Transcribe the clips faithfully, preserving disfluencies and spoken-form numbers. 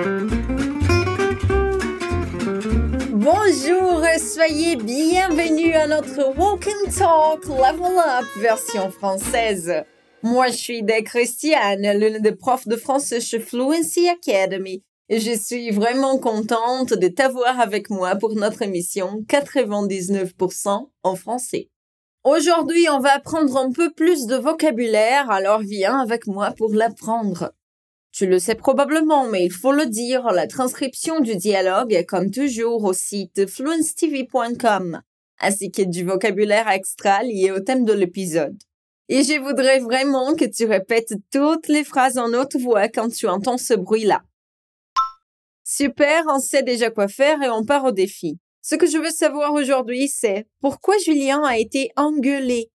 Bonjour, soyez bienvenus à notre Walk and Talk Level Up version française. Moi, je suis Des Christiane, l'une des profs de français chez Fluency Academy, et je suis vraiment contente de t'avoir avec moi pour notre émission quatre-vingt-dix-neuf pour cent en français. Aujourd'hui, on va apprendre un peu plus de vocabulaire, alors viens avec moi pour l'apprendre. Tu le sais probablement, mais il faut le dire, la transcription du dialogue est comme toujours au site fluency t v point com, ainsi que du vocabulaire extra lié au thème de l'épisode. Et je voudrais vraiment que tu répètes toutes les phrases en haute voix quand tu entends ce bruit-là. Super, on sait déjà quoi faire et on part au défi. Ce que je veux savoir aujourd'hui, c'est pourquoi Julien a été engueulé.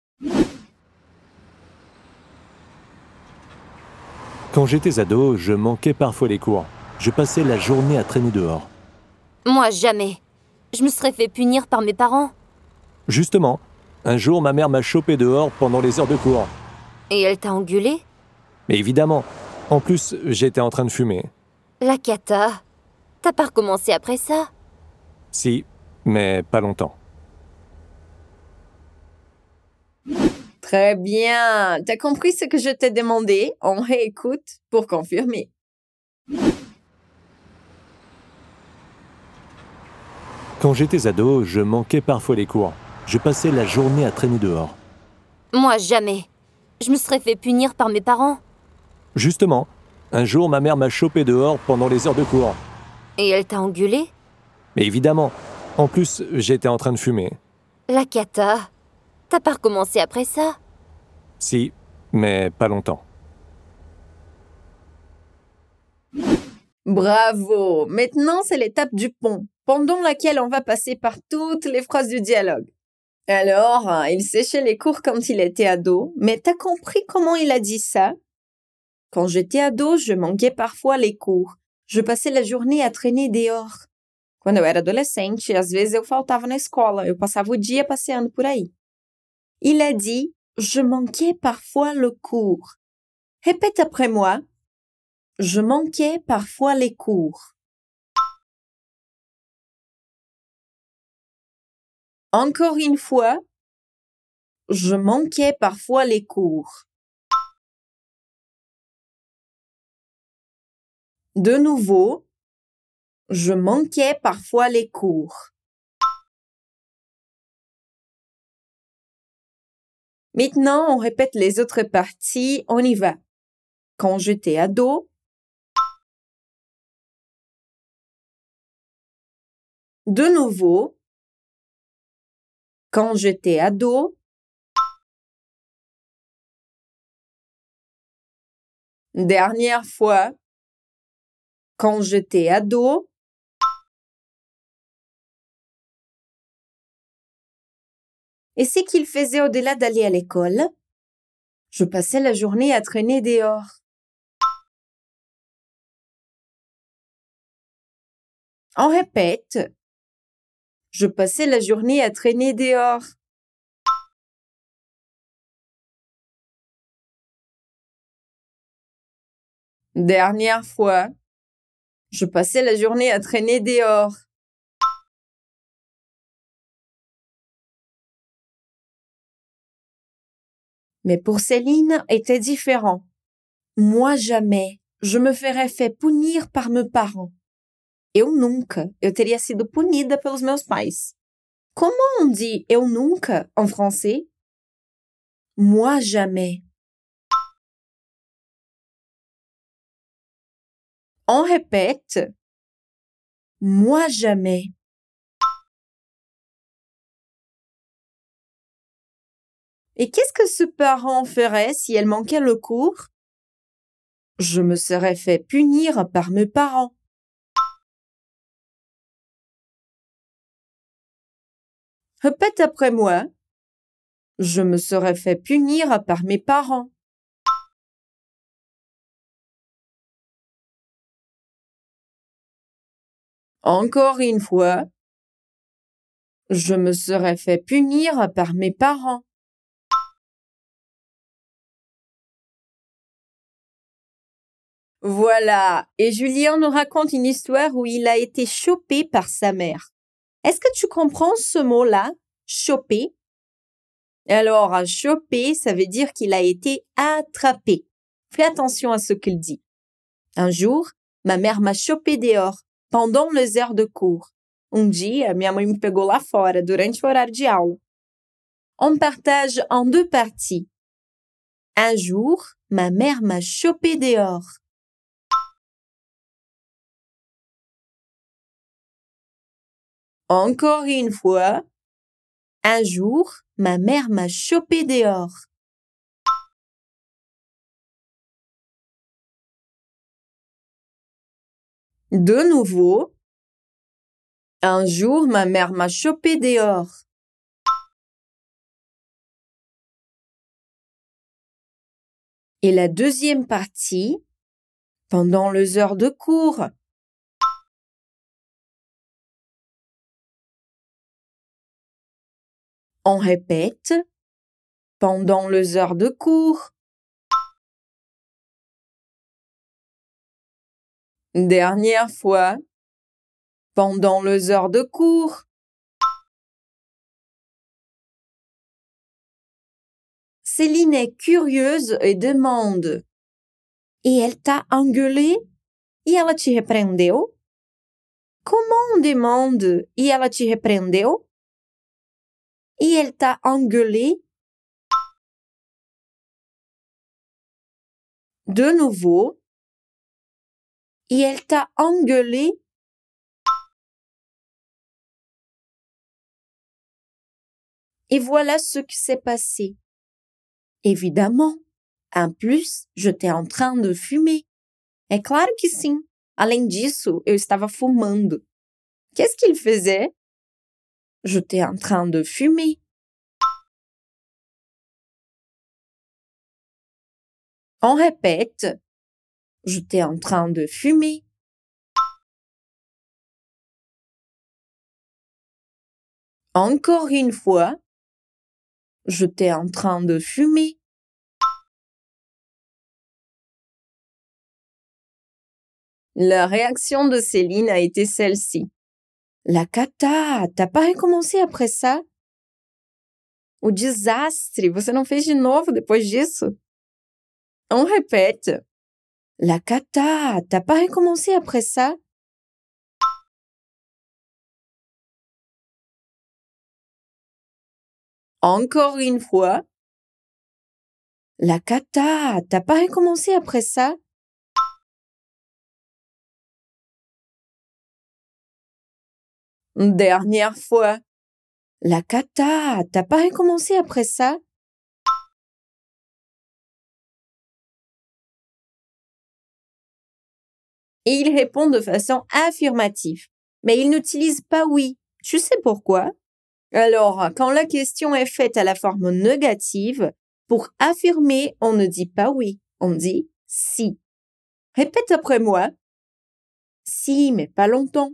Quand j'étais ado, je manquais parfois les cours. Je passais la journée à traîner dehors. Moi, jamais. Je me serais fait punir par mes parents. Justement, un jour, ma mère m'a chopé dehors pendant les heures de cours. Et elle t'a engueulé? Mais évidemment. En plus, j'étais en train de fumer. La cata. T'as pas recommencé après ça? Si, mais pas longtemps. Très bien. T'as compris ce que je t'ai demandé? On réécoute pour confirmer. Quand j'étais ado, je manquais parfois les cours. Je passais la journée à traîner dehors. Moi, jamais. Je me serais fait punir par mes parents. Justement, un jour, ma mère m'a chopé dehors pendant les heures de cours. Et elle t'a engueulé? Mais évidemment. En plus, j'étais en train de fumer. La cata. T'as pas recommencé après ça? Si, mais pas longtemps. Bravo! Maintenant, c'est l'étape du pont, pendant laquelle on va passer par toutes les phrases du dialogue. Alors, il séchait les cours quand il était ado, mais t'as compris comment il a dit ça? Quand j'étais ado, je manquais parfois les cours. Je passais la journée à traîner dehors. Quando eu era adolescente, às vezes eu faltava na escola, eu passava o dia passeando por aí. Il a dit « Je manquais parfois le cours ». Répète après moi. Je manquais parfois les cours. Encore une fois. Je manquais parfois les cours. De nouveau. Je manquais parfois les cours. Maintenant, on répète les autres parties. On y va. Quand j'étais ado. De nouveau. Quand j'étais ado. Dernière fois. Quand j'étais ado. Et c'est qu'il faisait au-delà d'aller à l'école? Je passais la journée à traîner dehors. On répète. Je passais la journée à traîner dehors. Dernière fois. Je passais la journée à traîner dehors. Mais pour Céline, était différent. Moi, jamais. Je me ferais fait punir par meus parents. Eu nunca. Eu teria sido punida pelos meus pais. Comment on dit eu nunca en français? Moi, jamais. On répète. Moi, jamais. Et qu'est-ce que ce parent ferait si elle manquait le cours? Je me serais fait punir par mes parents. Répète après moi. Je me serais fait punir par mes parents. Encore une fois. Je me serais fait punir par mes parents. Voilà. Et Julien nous raconte une histoire où il a été chopé par sa mère. Est-ce que tu comprends ce mot-là, choper? Alors, choper, ça veut dire qu'il a été attrapé. Fais attention à ce qu'il dit. Un jour, ma mère m'a chopé dehors, pendant les heures de cours. Um dia, minha mãe me pegou lá fora, durante o horário de aula. On partage en deux parties. Un jour, ma mère m'a chopé dehors. Encore une fois. Un jour, ma mère m'a chopé dehors. De nouveau. Un jour, ma mère m'a chopé dehors. Et la deuxième partie, pendant les heures de cours. On répète, pendant les heures de cours. Dernière fois, pendant les heures de cours. Céline est curieuse et demande: E elle t'a engueulé? E ela te repreendeu? Comment on demande e ela te repreendeu? E elle t'a engueulé? De nouveau. Et elle t'a engueulé? Et voilà ce qui s'est passé. Évidemment. En plus, j'étais en train de fumer. É claro que sim. Além disso, eu estava fumando. Qu'est-ce qu'il faisait? J'étais en train de fumer. On répète. J'étais en train de fumer. Encore une fois. J'étais en train de fumer. La réaction de Céline a été celle-ci. La cata, t'as pas recommencé après ça? O desastre, você não fez de novo depois disso? On répète. La cata, t'as pas recommencé après ça? Encore une fois. La cata, t'as pas recommencé après ça? Dernière fois. La cata, t'as pas recommencé après ça? Et il répond de façon affirmative. Mais il n'utilise pas oui. Tu sais pourquoi? Alors, quand la question est faite à la forme négative, pour affirmer, on ne dit pas oui, on dit si. Répète après moi. Si, mais pas longtemps.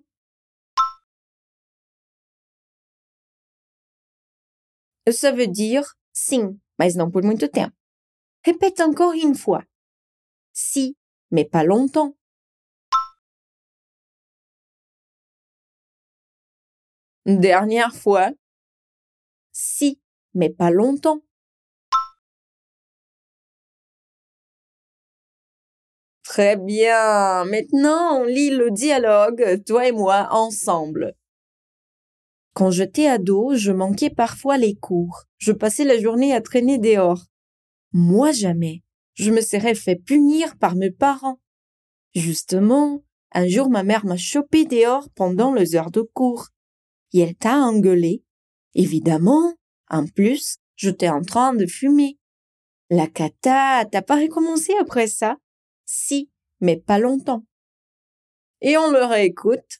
Ça veut dire sim, mas não por muito tempo. Répète encore une fois. Si, mais pas longtemps. Dernière fois. Si, mais pas longtemps. Très bien. Maintenant, on lit le dialogue, toi et moi, ensemble. Quand j'étais ado, je manquais parfois les cours. Je passais la journée à traîner dehors. Moi jamais. Je me serais fait punir par mes parents. Justement, un jour ma mère m'a chopé dehors pendant les heures de cours. Et elle t'a engueulé. Évidemment. En plus, j'étais en train de fumer. La cata, t'as pas recommencé après ça? Si, mais pas longtemps. Et on le réécoute.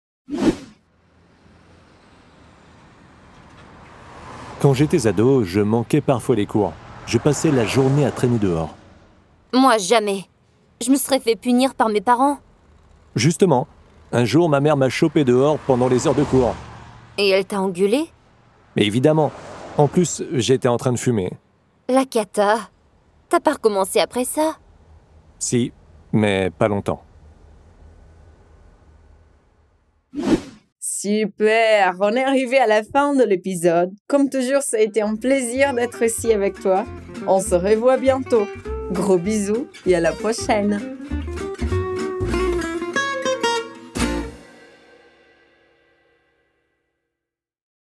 Quand j'étais ado, je manquais parfois les cours. Je passais la journée à traîner dehors. Moi, jamais. Je me serais fait punir par mes parents. Justement, un jour, ma mère m'a chopé dehors pendant les heures de cours. Et elle t'a engueulé? Mais évidemment. En plus, j'étais en train de fumer. La cata. T'as pas recommencé après ça? Si, Mais pas longtemps. Super, on est arrivé à la fin de l'épisode. Comme toujours, ça a été un plaisir d'être ici avec toi. On se revoit bientôt. Gros bisous et à la prochaine.